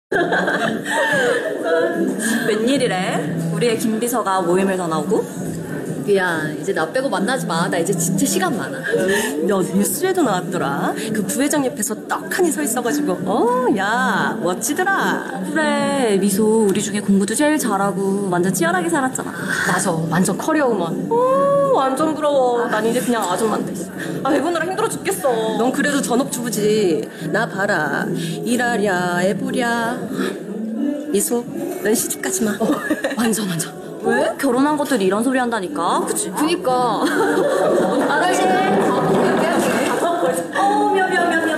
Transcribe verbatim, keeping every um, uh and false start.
웬일이래? 우리의 김비서가 모임을 더 나오고? 미안, 이제 나 빼고 만나지 마. 나 이제 진짜 시간 많아. 야, 뉴스에도 나왔더라. 그 부회장 옆에서 떡하니 서 있어가지고 어, 야, 멋지더라. 그래, 미소 우리 중에 공부도 제일 잘하고 완전 치열하게 살았잖아. 맞아, 완전 커리어우먼. 어, 완전 부러워. 난 이제 그냥 아줌마인데. 아, 애 보느라 힘들어 죽겠어. 넌 그래도 전업주부지. 나 봐라. 일하랴, 애 보랴. 미소, 넌 시집가지 마. 어, 완전 완전. 왜? 결혼한 것들이 이런 소리 한다니까. 그치? 그니까. 아가씨. 어, 미안, 미안, 미안, 미안.